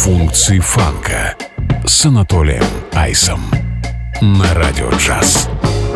Функции фанка с Анатолием Айсом на Радио Джаз.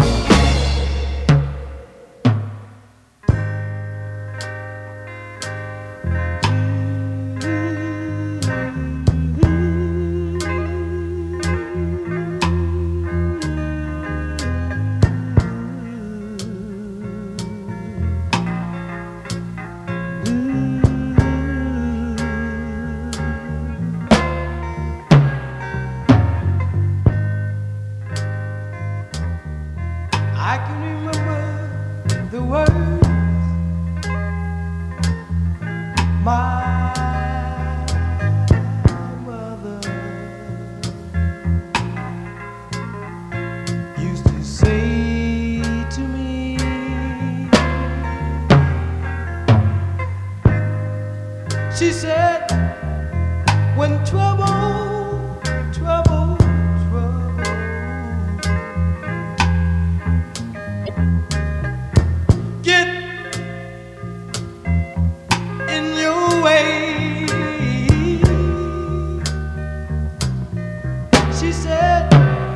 She said, when trouble get in your way, she said,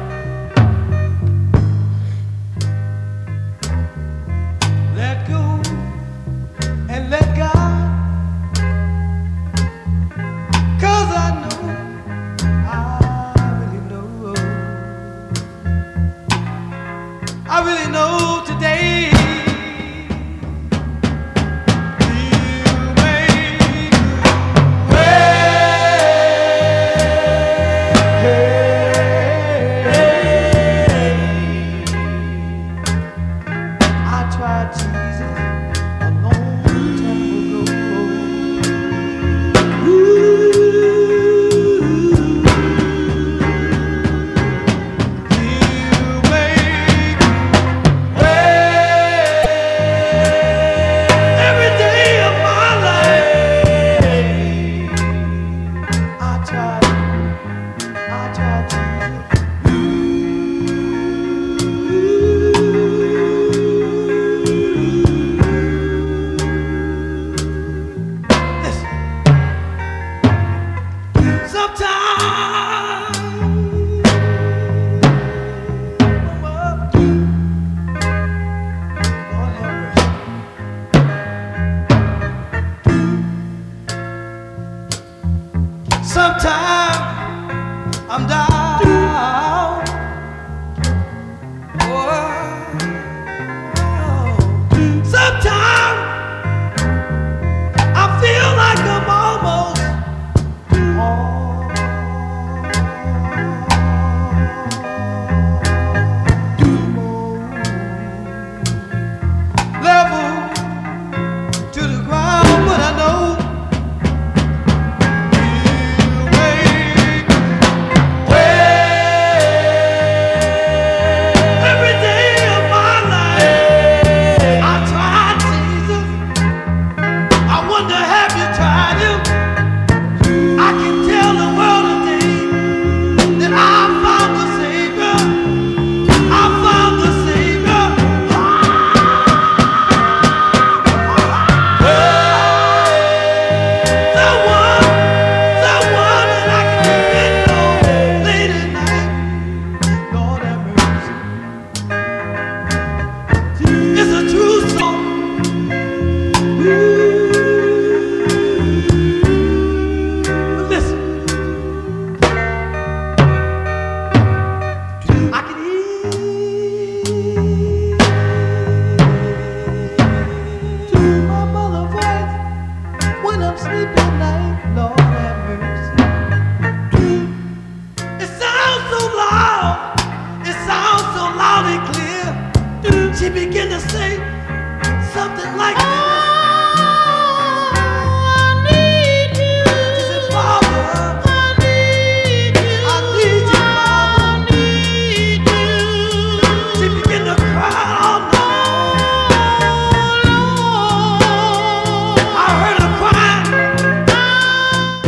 let go and let God. I really know today you make I tried Jesus a long time ago. Sometimes I'm down. Sometimes I feel like I'm almost level to the ground, but I know you make way.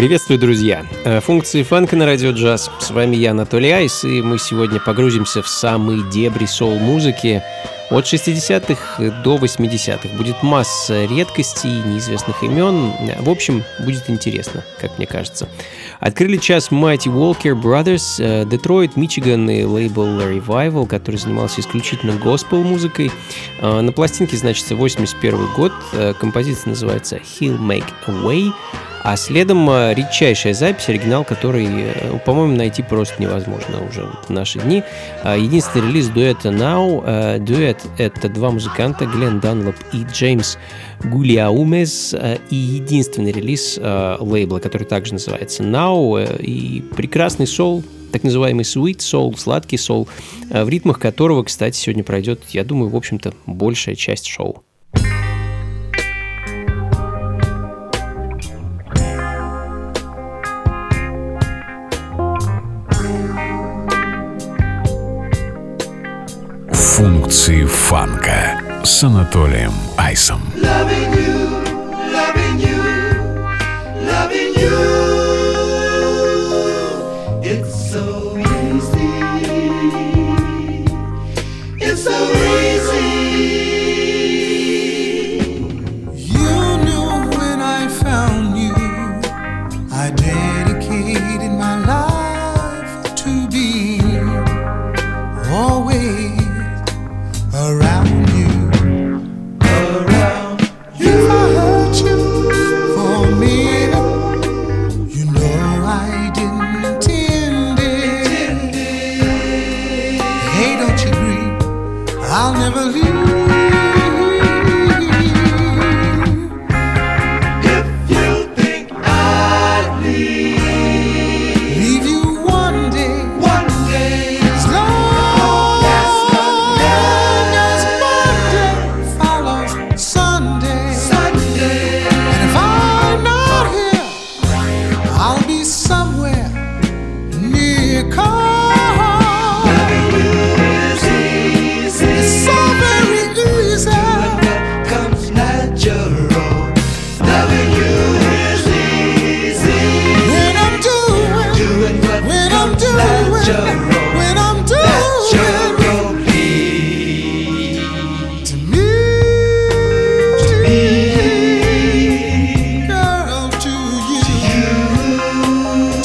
Приветствую, друзья! Функции фанка на радио джаз. С вами я, Анатолий Айс, и мы сегодня погрузимся в самые дебри соул-музыки. От 60-х до 80-х будет масса редкостей, неизвестных имен. В общем, будет интересно, как мне кажется. Открыли час Mighty Walker Brothers, Детройт, Мичиган и лейбл Revival, который занимался исключительно госпел-музыкой. На пластинке значится 81 год, композиция называется He'll Make a Way. А следом редчайшая запись, оригинал, который, по-моему, найти просто невозможно уже в наши дни. Единственный релиз дуэта Now. Дуэт — это два музыканта, Глен Данлоп и Джеймс Гулиаумес. И единственный релиз лейбла, который также называется Now. И прекрасный соул, так называемый sweet soul, сладкий соул, в ритмах которого, кстати, сегодня пройдет, я думаю, в общем-то, большая часть шоу. Функции фанка с Анатолием Айсом. Loving you, loving you, loving you. It's so easy. It's so easy. You knew when I found you, I dedicated my life to be always around you, around you. If I hurt you for a minute, you know I didn't intend it. Hey, don't you grieve, I'll never leave. If you think I'd leave You one day, as long as Monday follows Sunday. Sunday. And if I'm not here, I'll be somewhere near calm. Loving you is easy. It's so very easy. What comes natural. Loving you is easy. When I'm doing What when I'm comes doing natural. when I'm doing Naturally. to me, girl, to you.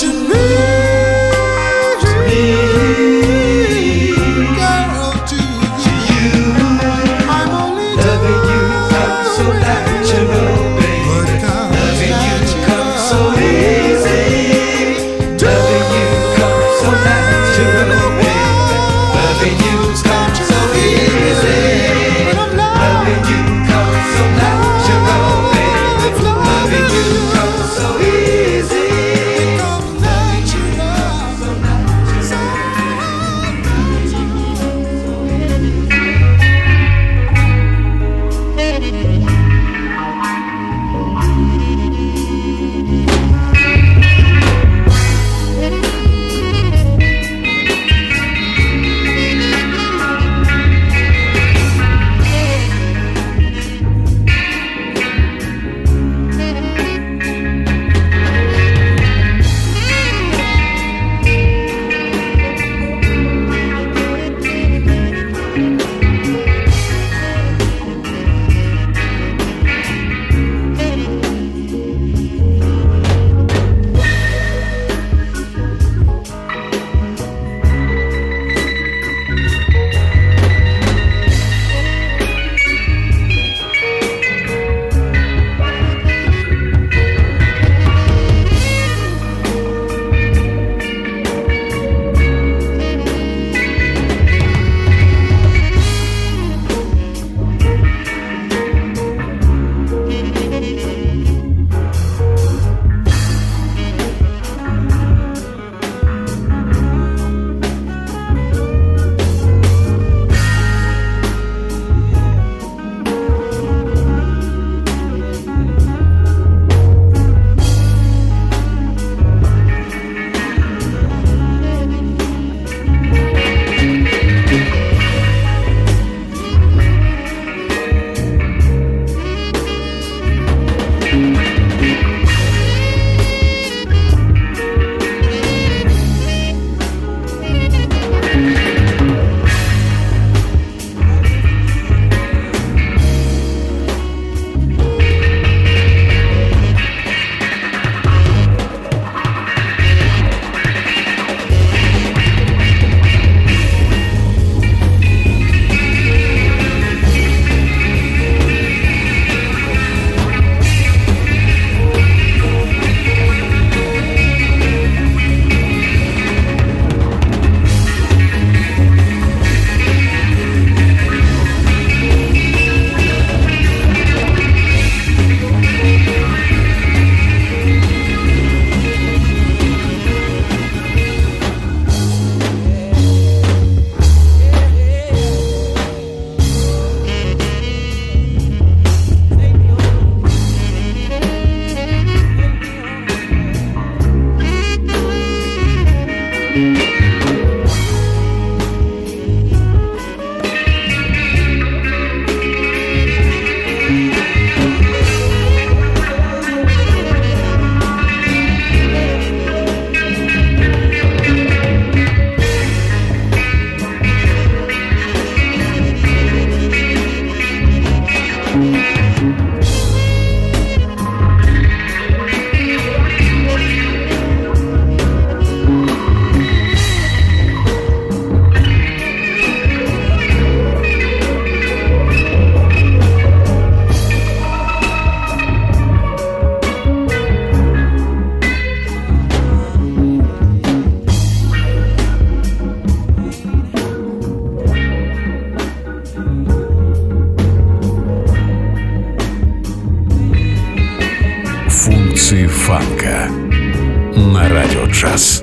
Функции фанка на радио джаз.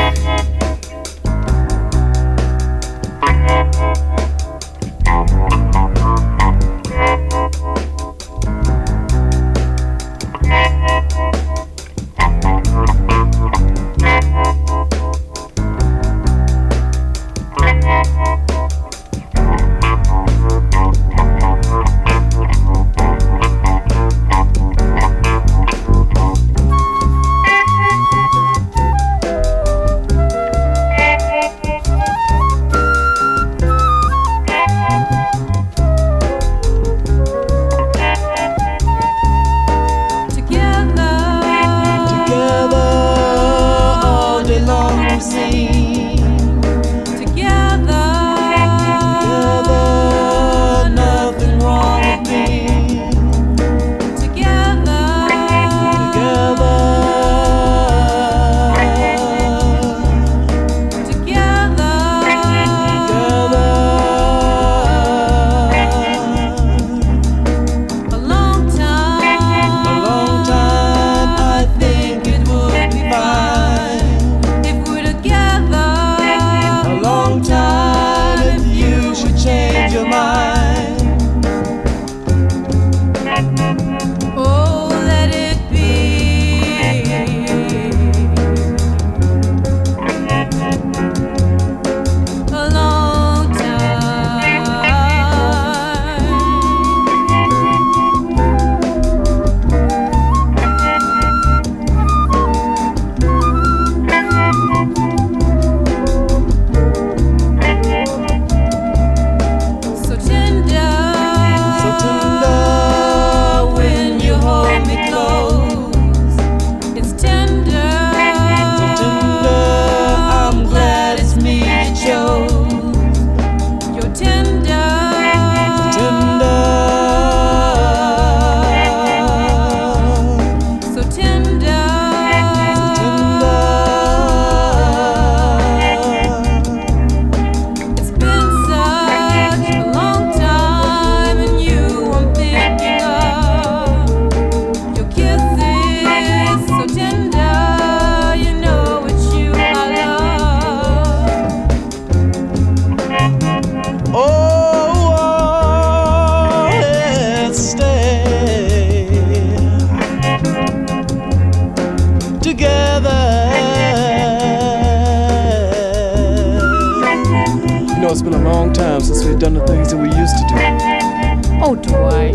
It's been a long time since we've done the things that we used to do. Oh, Dwight.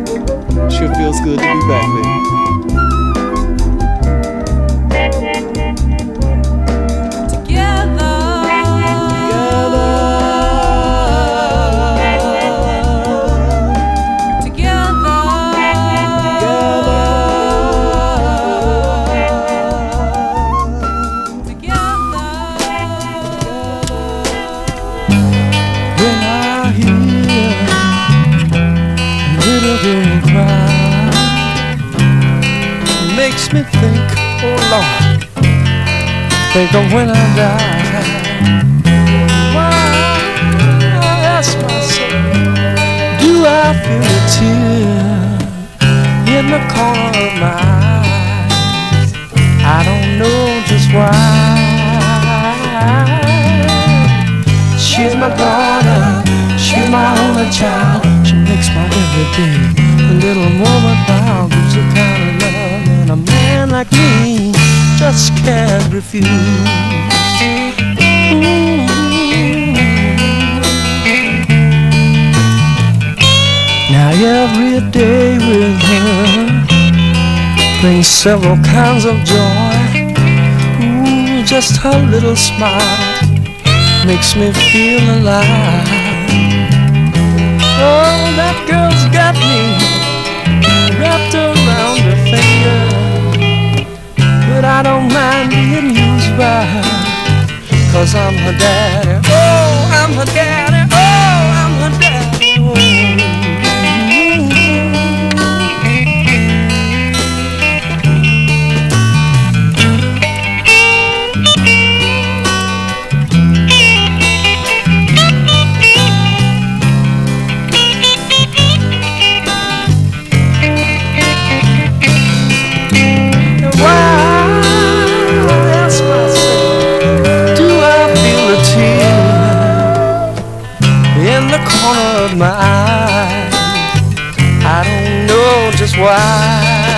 Sure feels good to be back, baby. Makes me think, oh Lord, think of when I die. Why, I ask myself, do I feel a tear in the corner of my eyes? I don't know just why. She's my daughter, she's my only child. She makes my everyday a little more proud. Gives the kind of love a man like me just can't refuse. Now every day with her brings several kinds of joy. Ooh, just her little smile makes me feel alive. Oh, that girl's got me wrapped around her finger, but I don't mind being used by her, 'cause I'm her daddy. Oh, I'm her daddy. Oh, I'm her daddy. Oh. Of my eye, I don't know just why.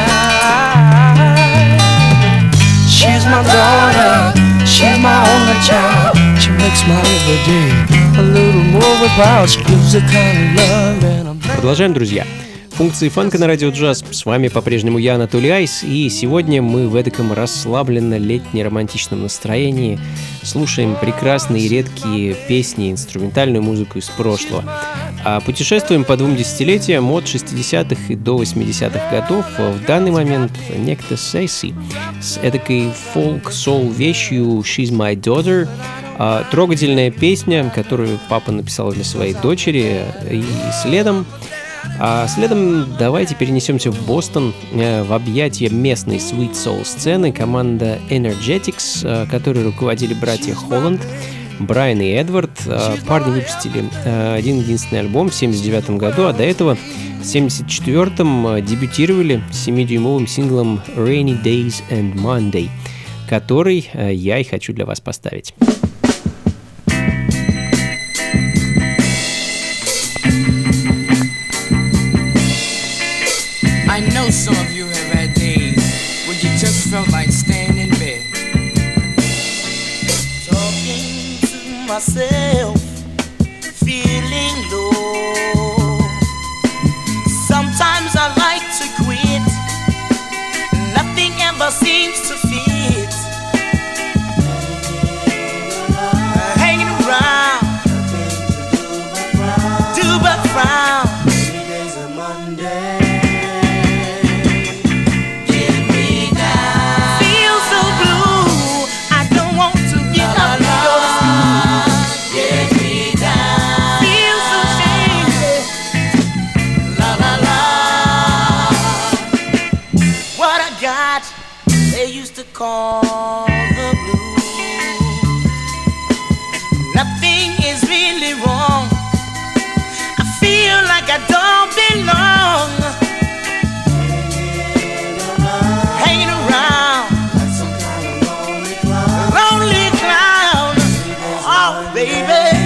She's my daughter, she's my only child. She makes my every day a little more worthwhile. She gives the kind of love and I'm... Продолжаем, друзья. Функции фанка на радио джаз. С вами по-прежнему я, Анатолий Айс, и сегодня мы в эдаком расслабленно-летне-романтичном настроении слушаем прекрасные и редкие песни, инструментальную музыку из прошлого. А путешествуем по 2 десятилетиям от 60-х и до 80-х годов. В данный момент некто Сейси с эдакой фолк-сол вещью «She's My Daughter». Трогательная песня, которую папа написал для своей дочери, и следом давайте перенесемся в Бостон, в объятия местной Sweet Soul сцены. Команда Energetics, которой руководили братья Холланд, Брайан и Эдвард. Парни выпустили один-единственный альбом в 1979 году, а до этого в 1974 дебютировали 7-дюймовым синглом Rainy Days and Monday, который я и хочу для вас поставить. I know some of you have had days when you just felt like staying in bed, Talking to myself, feeling low. Sometimes I like to quit, nothing ever seems to fit. Hanging around, do but frown. Today's a Monday. Call the blues. Nothing is really wrong. I feel like I don't belong. Hanging around like some kind of lonely clown. Lonely clown. Oh, baby.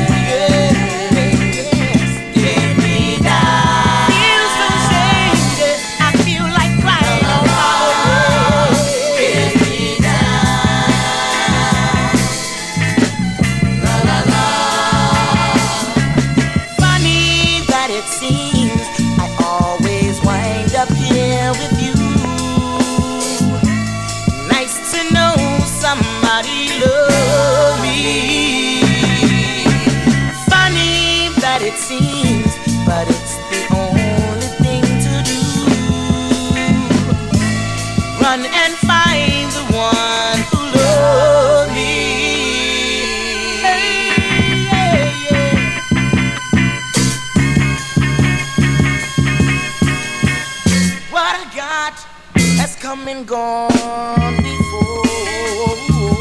It seems, but it's the only thing to do. Run and find the one who loves me. Hey, yeah, yeah. What I got has come and gone before.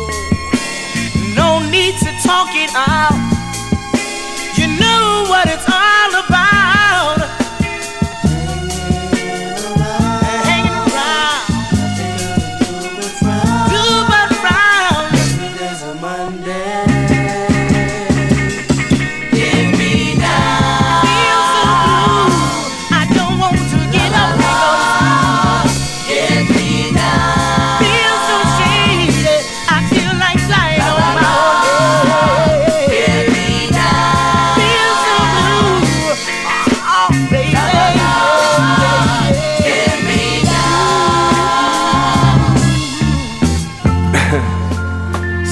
No need to talk it out. You know what it's all about. Hanging around, do but frown. Today's a Monday. Give me now. Feel so blue, I don't want to get up. Give me now. Feel so shady, I feel like flying on my own.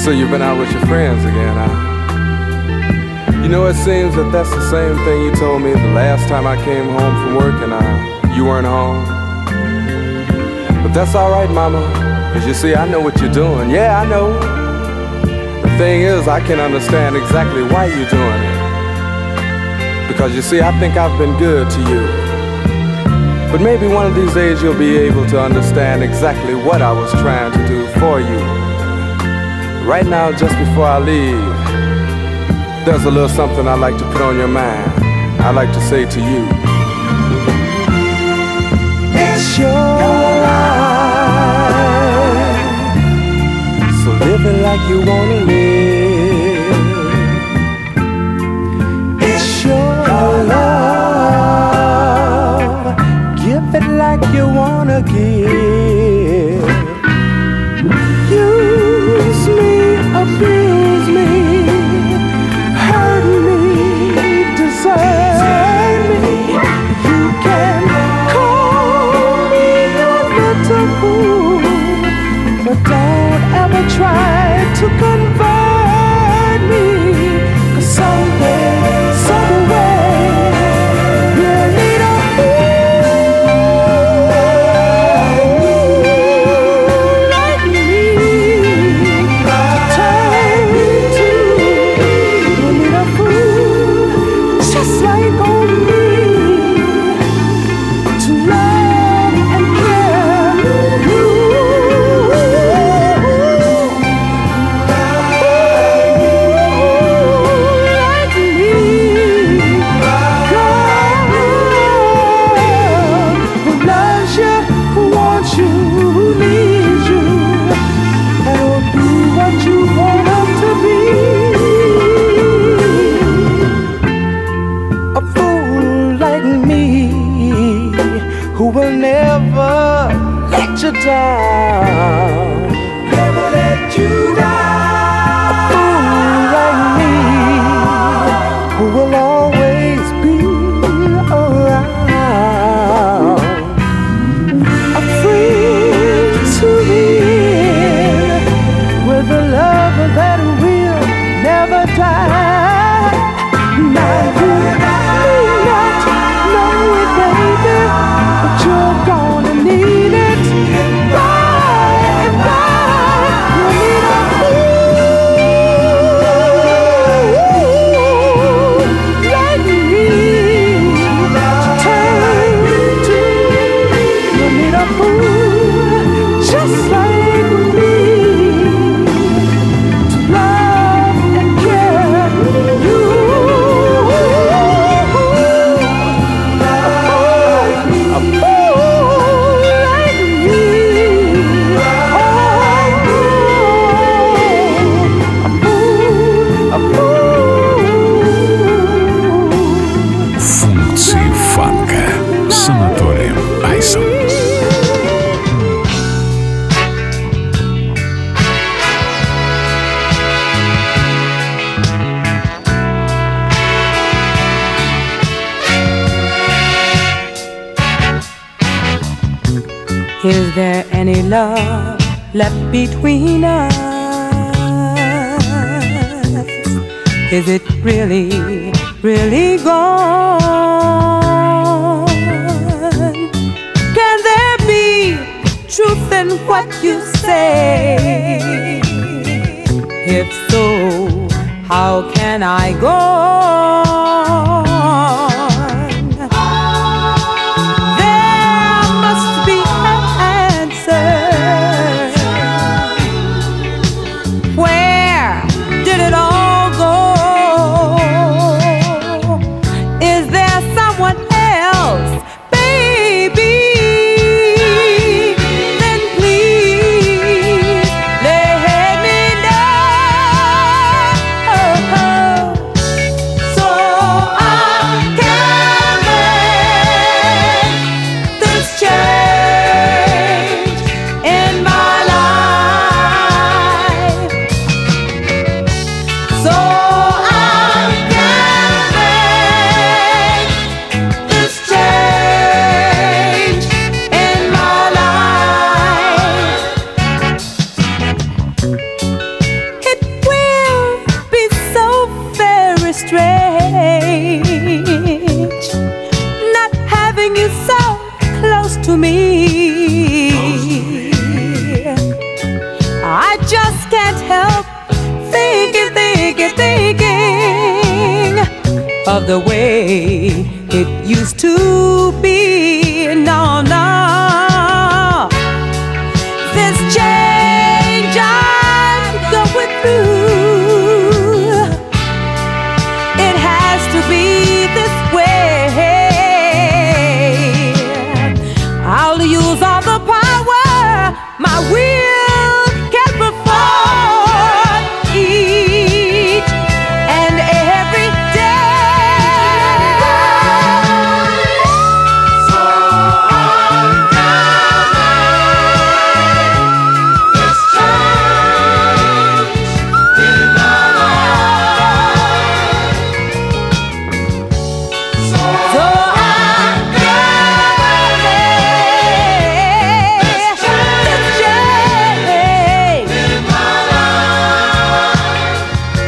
So you've been out with your friends again, huh? You know, it seems that that's the same thing you told me the last time I came home from work and you weren't home. But that's alright, mama, cause you see, I know what you're doing. Yeah, I know. The thing is, I can understand exactly why you're doing it. Because you see, I think I've been good to you. But maybe one of these days you'll be able to understand exactly what I was trying to do for you. Right now, just before I leave, there's a little something I'd like to put on your mind. I'd like to say to you, it's your life, so live it like you wanna live. It's your love, give it like you wanna give. Use me, abuse me, hurt me, desert me. You can call me a little fool, but don't ever try to convert me. 'Cause someday, someway, you'll need a fool like me to turn to. You'll need a fool just like on me to love and care you. Like me, girl, who loves you, who wants you, who needs you, and will be what you want them to be. A fool like me, who will never let you down, never let you down. A fool like me, who will always be around. A friend to the end, with a love that will never die. Now you may not know it, baby, but you're gonna need it. By and by, you need a fool like me to turn to. You need a fool just like me to love and care you. A fool like me. Oh, a fool. Функции фанка с Анатолием Айсом. Is there any love left between us? Is it really, really gone? Can there be truth in what you say? If so, how can I go on? There must be an answer. Where did it all go? Is there someone else, baby? Then please let me know. strange not having you so close to me. I just can't help thinking of the way it used to be. No, no, this change I'm going through, it has to be this way. I'll use all the power my will can perform each and every day. So I'm gathering this change in my life. So I'm gathering this change in my life.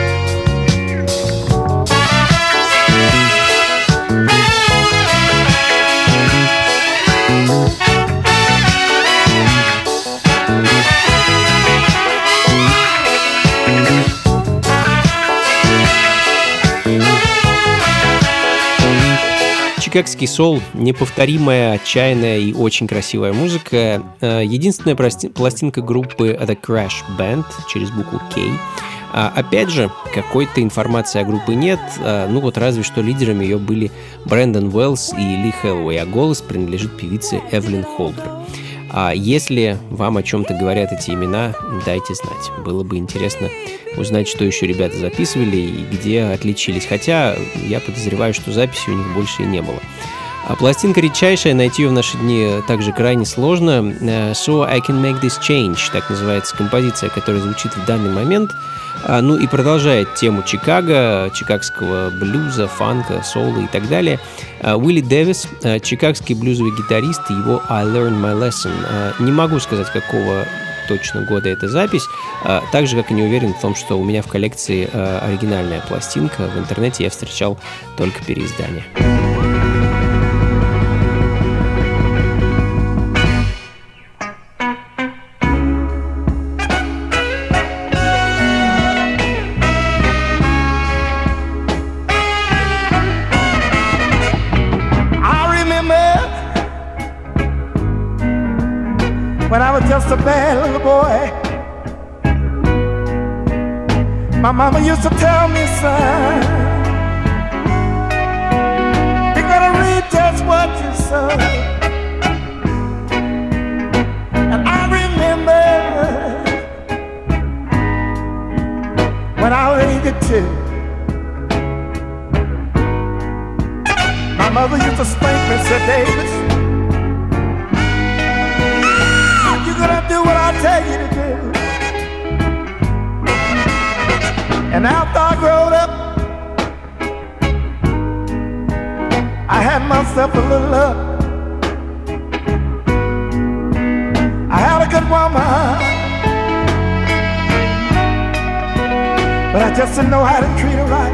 Чикагский соул — неповторимая, отчаянная и очень красивая музыка. Единственная пластинка группы The Crash Band через букву K. Опять же, какой-то информации о группе нет, ну вот разве что лидерами ее были Брэндон Уэллс и Ли Хэллоуэй, а голос принадлежит певице Эвелин Холдер. Если вам о чем-то говорят эти имена, дайте знать. Было бы интересно узнать, что еще ребята записывали и где отличились. Хотя я подозреваю, что записи у них больше и не было. Пластинка редчайшая, найти ее в наши дни также крайне сложно. So I Can Make This Change, так называется композиция, которая звучит в данный момент. Ну и продолжает тему Чикаго, чикагского блюза, фанка, соула и так далее. Уилли Дэвис, чикагский блюзовый гитарист, его I Learned My Lesson. Не могу сказать, какого точно года эта запись, так же, как и не уверен в том, что у меня в коллекции оригинальная пластинка. В интернете я встречал только переиздание. When I was just a bad little boy, my mama used to tell me, son, you gotta read just what you sow. And I remember when I was 82, my mother used to spank me and said, Davis, do what I tell you to do. And after I growed up, I had myself a little luck. I had a good woman, but I just didn't know how to treat her right.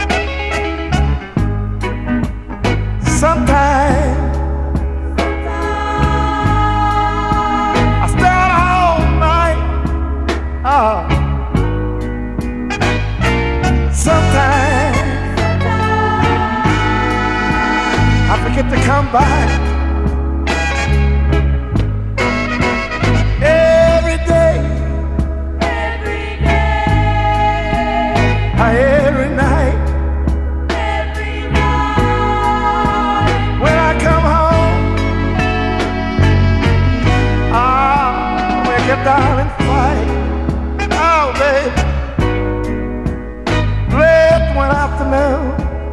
Sometimes sometimes I forget to come by. Every day, every night, when I come home, I'll make a darling fight. Oh, baby. Late one afternoon,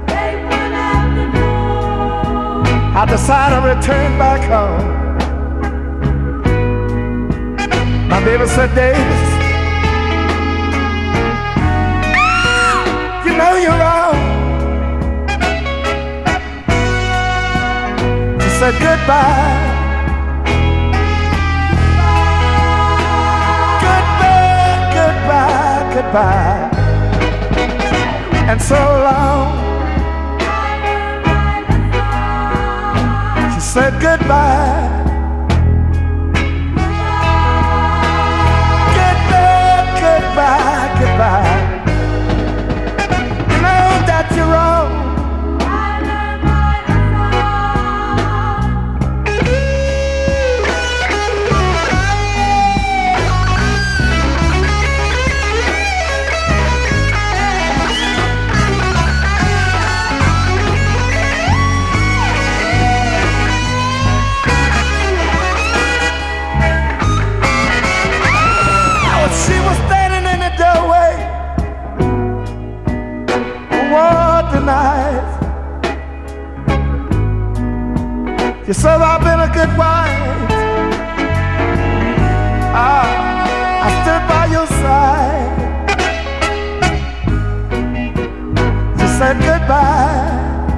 I decided to return back home. My baby said, Davis, you know you're wrong. She said, goodbye. Goodbye, goodbye. and so long. She said goodbye. Goodbye, goodbye, goodbye. You know that you're wrong. She was standing in the doorway one night. She said, I've been a good wife. I stood by your side. She said goodbye.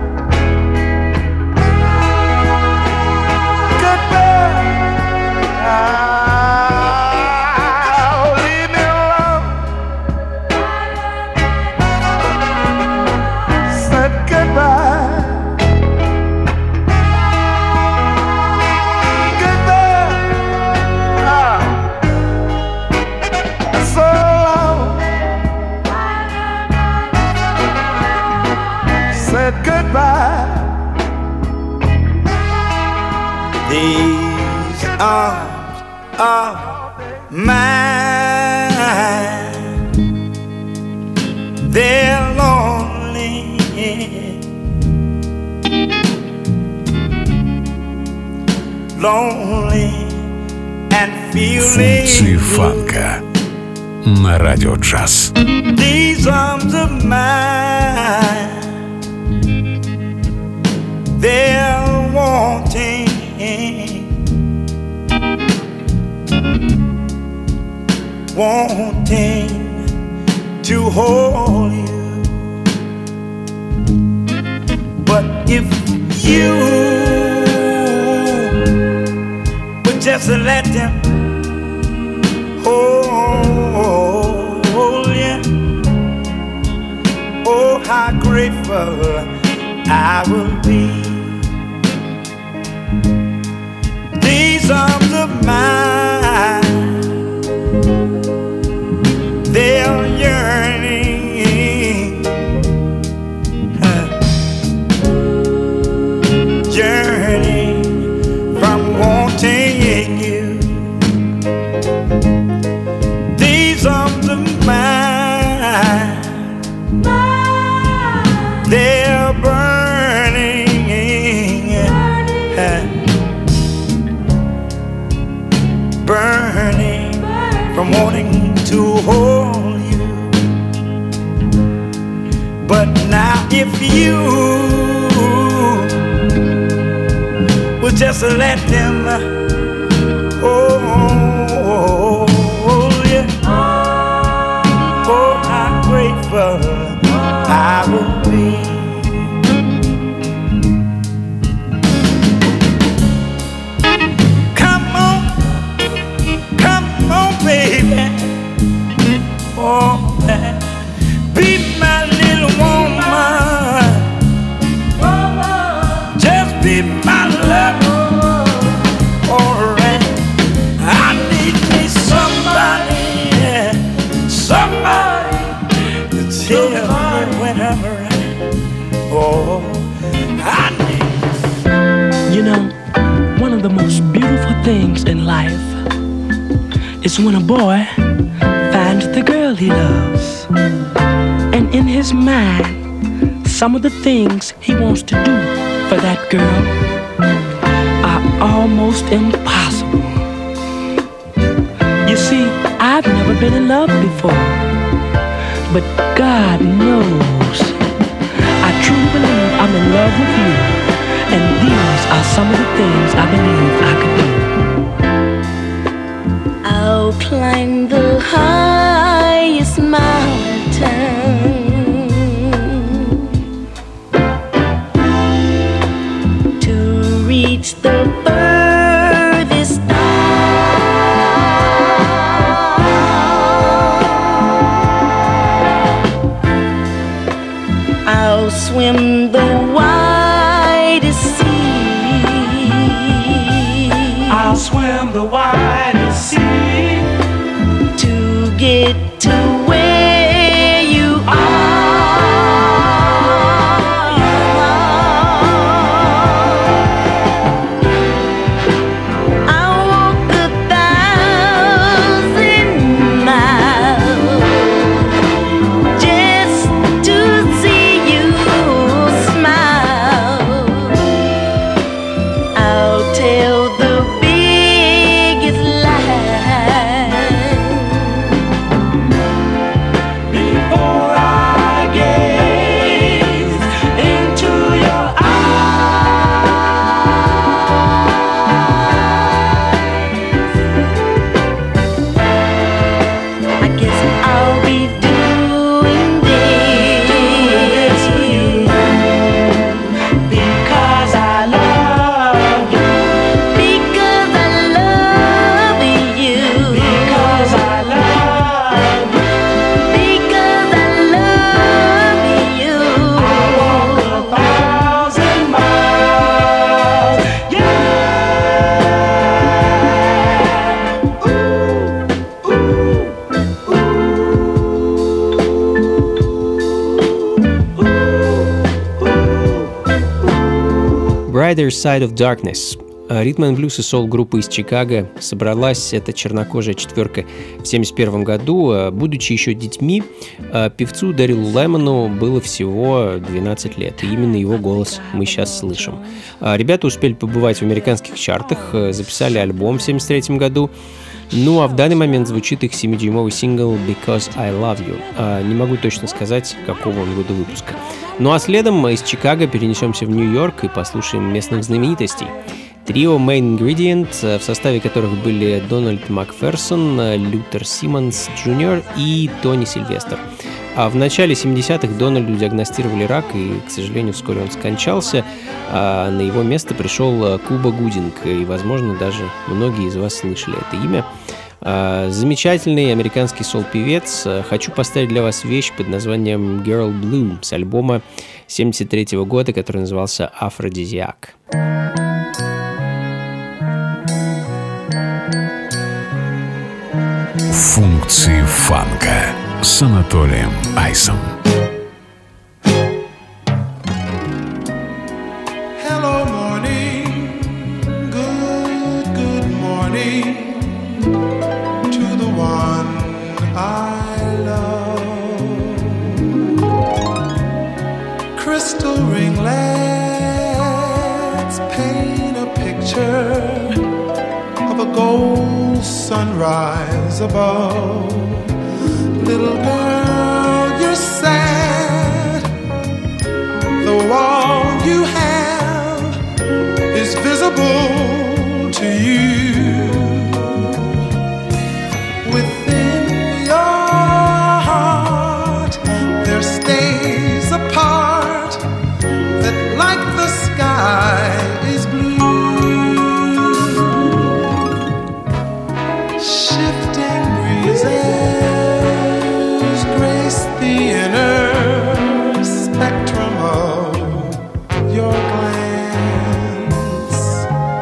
Goodbye. These arms are mine. They're lonely, lonely and feeling. Функции фанка на радио джаз. These arms of mine, they're wanting, wanting to hold you. But if you would just let them hold you, oh, how grateful I will be. These arms of mine, they're yearning, yearning from wanting you. These arms of mine, they're burning, burning from wanting to hold you. But now if you would just let them hold you, oh, how grateful I will be. Come on, baby. Oh, be my little woman. Just be my lover. Alright. I need me somebody, somebody to tell me when I'm right. Oh, I need. You know, one of the most beautiful things in life is when a boy finds the girl he loves, and in his mind, some of the things he wants to do for that girl are almost impossible. You see, I've never been in love before, but God knows I truly believe I'm in love with you, and these are some of the things I believe I could do. I'll climb the highest mountain, to reach the furthest star. swim the widest sea. I'll swim the widest sea to get to where you are. I'll walk 1,000 miles just to see you smile. I'll tell the biggest lie before I gaze into your I guess I'll be doing this for you because I love you, because I love you, because I love you. because I love you. 1,000 miles, yeah. Brighter Side of Darkness. Ритм-н-блюз и сол-группа из Чикаго. Собралась эта чернокожая четверка в 1971 году. Будучи еще детьми, певцу Дэрилу Лемону было всего 12 лет. И именно его голос мы сейчас слышим. Ребята успели побывать в американских чартах, записали альбом в 1973 году. Ну а в данный момент звучит их 7-дюймовый сингл «Because I Love You». Не могу точно сказать, какого он года выпуска. Ну а следом из Чикаго перенесемся в Нью-Йорк и послушаем местных знаменитостей. Трио Main Ingredient, в составе которых были Дональд Макферсон, Лютер Симмонс Джуниор и Тони Сильвестр. А в начале 70-х Дональду диагностировали рак, и, к сожалению, вскоре он скончался. А на его место пришел Куба Гудинг, и, возможно, даже многие из вас слышали это имя. Замечательный американский сол-певец. Хочу поставить для вас вещь под названием Girl Blue с альбома 1973 года, который назывался «Афродизиак». Функции фанка с Анатолием Айсом. Hello, morning. Good morning to the one I love. Crystal ringlets paint a picture of a gold sunrise above. Little girl, you're sad. The wall you have is visible to you. Within your heart there stays a part that, like the sky, is blue. Shifting breezes grace the inner spectrum of your glance.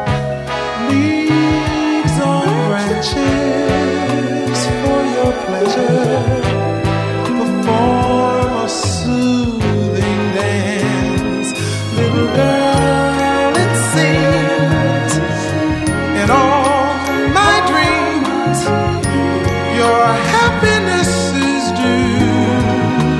Leaves on branches for your pleasure perform a soothing dance. Little girl, it seems in all my dreams your happiness is due,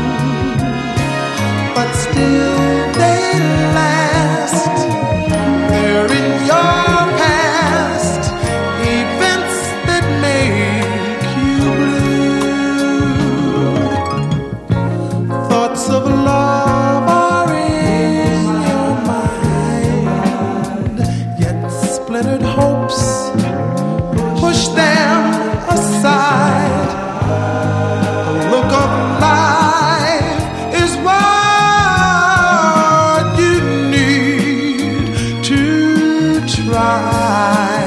but still they last. They're in your past, events that make you blue. Thoughts of love are in your mind, yet splintered hopes push them aside. A look of life is what you need to try.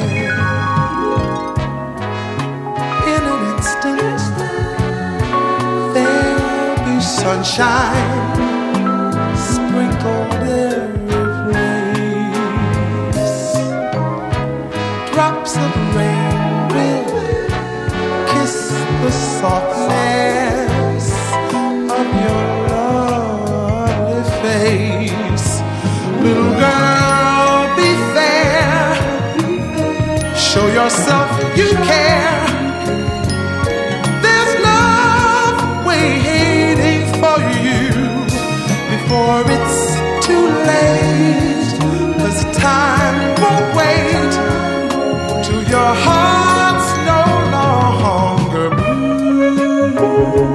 In an instant, there'll be sunshine yourself, you care. There's love waiting for you before it's too late. 'Cause time won't wait till your heart's no longer blue.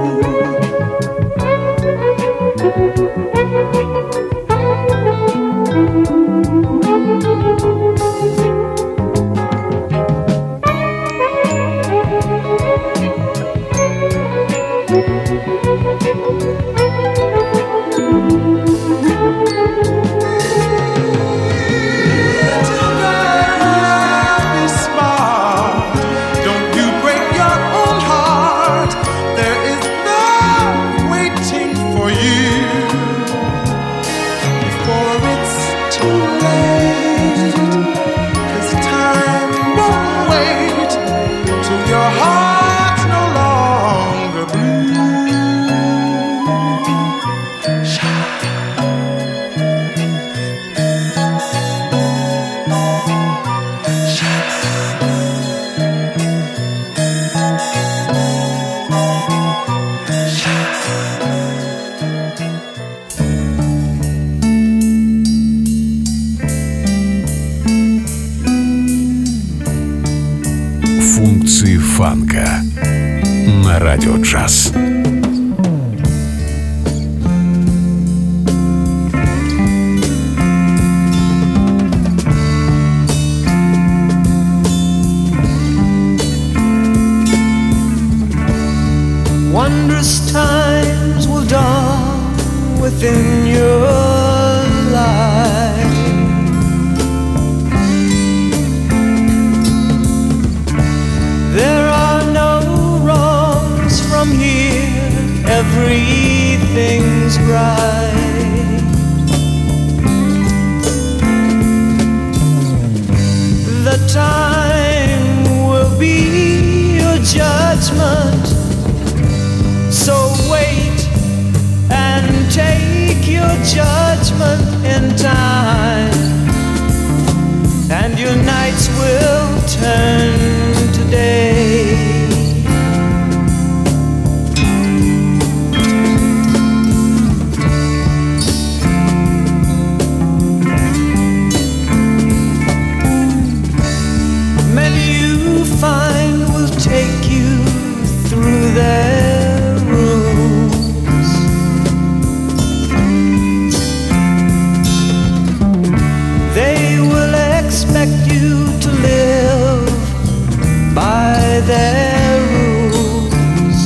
Функции фанка на Радио Джаз. Wondrous times will dawn within your life. There are no wrongs from here, everything's right. The time will be your judgment, so wait and take your judgment in time, and your nights will turn to day. Many you find will take you through their rooms. They will expect you to live by their rules.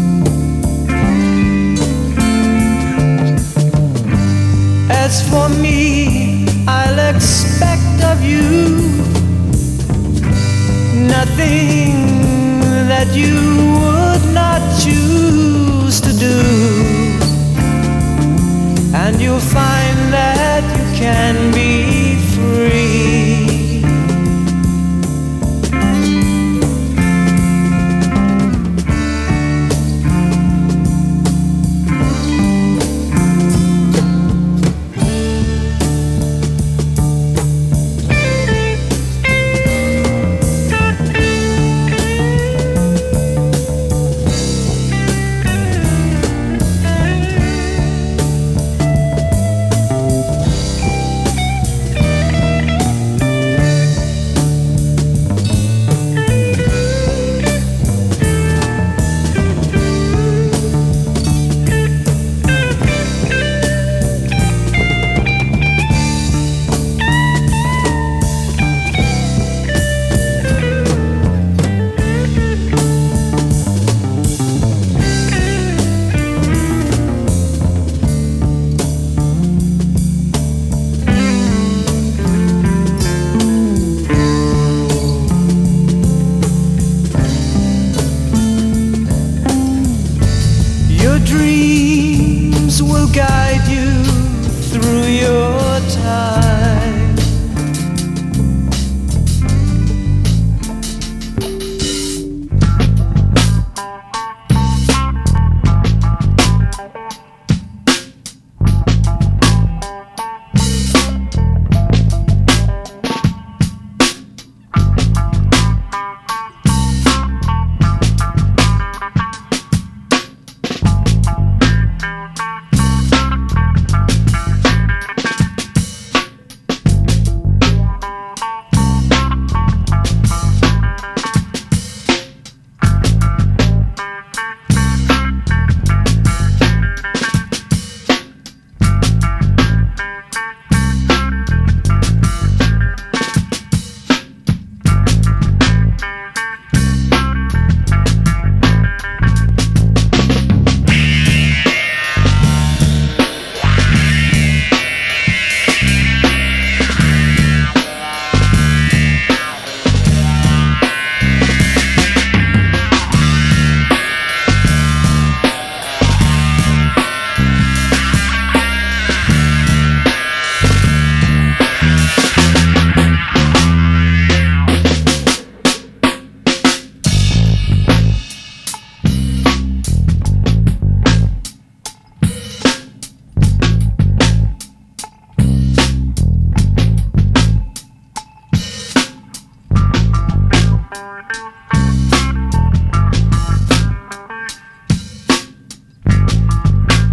As for me, I'll expect of you nothing that you would not choose to do, and you'll find that you can be free.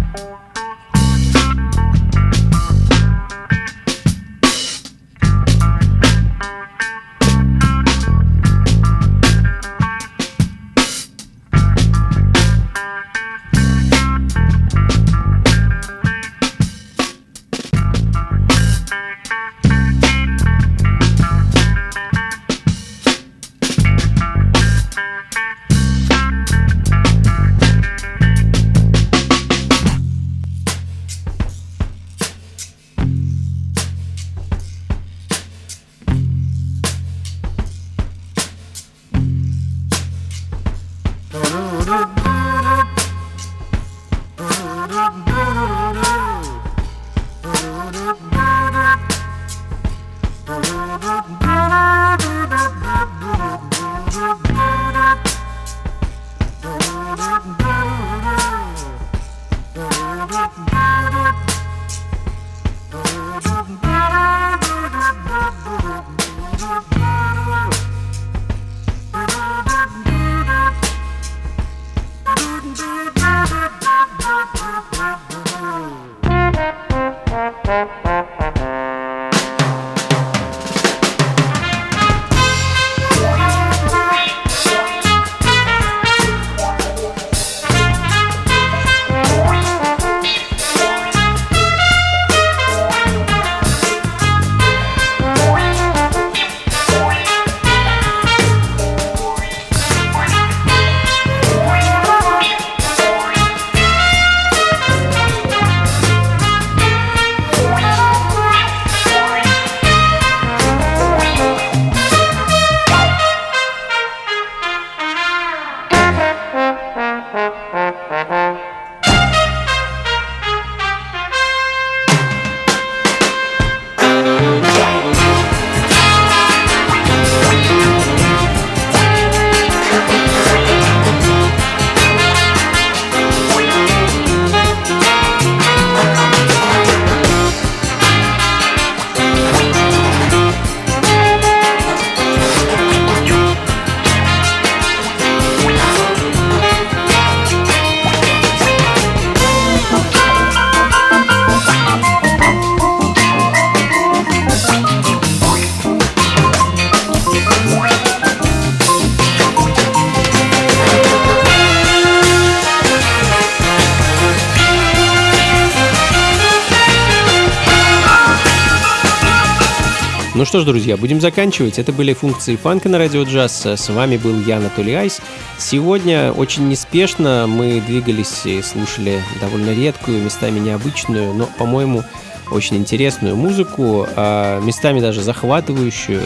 Ну что ж, друзья, будем заканчивать. Это были функции фанка на Радио Джаз. С вами был я, Анатолий Айс. Сегодня очень неспешно мы двигались и слушали довольно редкую, местами необычную, но, по-моему, очень интересную музыку, местами даже захватывающую.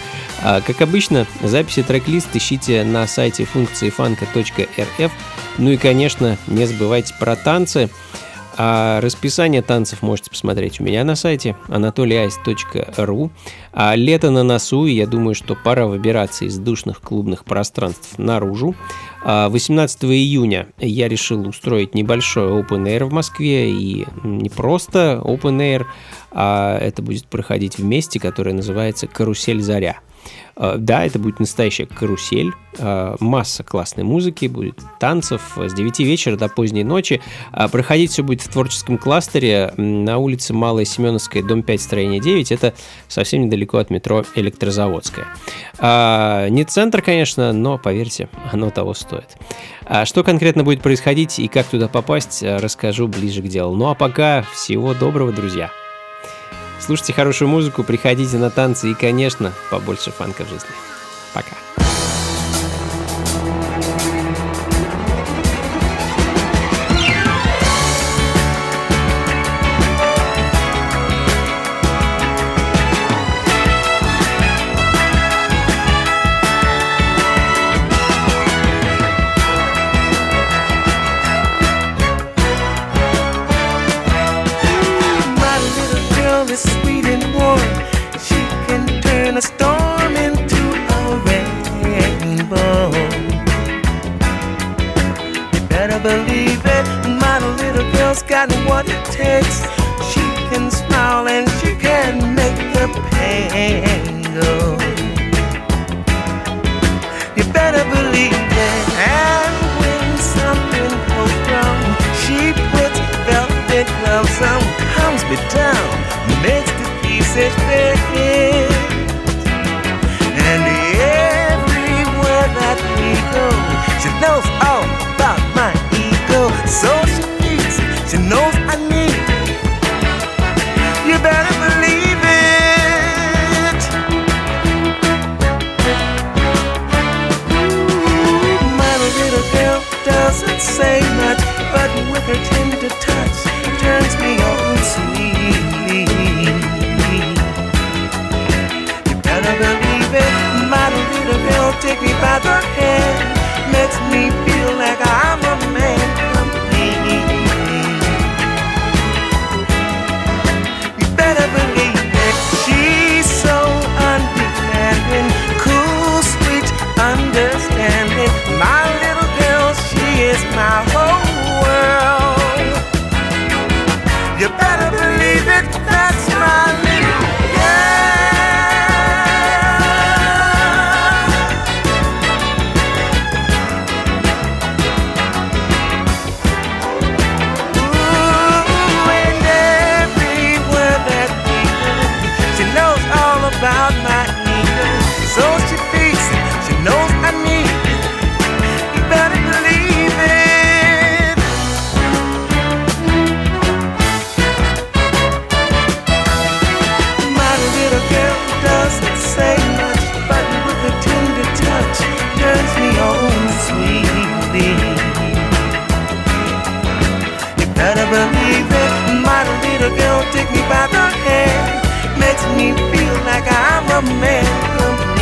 Как обычно, записи трек-лист ищите на сайте функциифанка.рф. Ну и, конечно, не забывайте про танцы. А расписание танцев можете посмотреть у меня на сайте anatolyice.ru. А лето на носу, и я думаю, что пора выбираться из душных клубных пространств наружу. 18 июня я решил устроить небольшой open air в Москве, и не просто open air, а это будет проходить в месте, которое называется «Карусель Заря». Да, это будет настоящая карусель, масса классной музыки, будет танцев с 9 вечера до поздней ночи. Проходить все будет в творческом кластере на улице Малая Семеновская, дом 5, строение 9. Это совсем недалеко от метро Электрозаводская. Не центр, конечно, но, поверьте, оно того стоит. Что конкретно будет происходить и как туда попасть, расскажу ближе к делу. Ну а пока всего доброго, друзья. Слушайте хорошую музыку, приходите на танцы и, конечно, побольше фанка в жизни. Пока. A storm into a rainbow. You better believe it, my little girl's got what it takes. She can smile and she can make the pain go. You better believe it, and when something goes wrong, she puts velvet it down, makes the pieces fit. And everywhere that we go, she knows all about my ego. So she feeds it, she knows I need it. You better believe it. Ooh, my little girl doesn't say much, but with her tender touch turns me on sweet. You better believe it. My little girl take me by the hand, makes me feel like I'm a man complete. You better believe it. She's so undemanding, cool, sweet, understanding. My little girl, she is my whole world. You better believe it, that's my little girl. Ooh, and everywhere that we go, she knows all about my ego. So she feeds it, she knows I need it. You better believe it. My little girl doesn't say much, but with a tender touch turns me on sweetly. You better believe it. My little girl take me by the hand, makes me feel like I'm a man.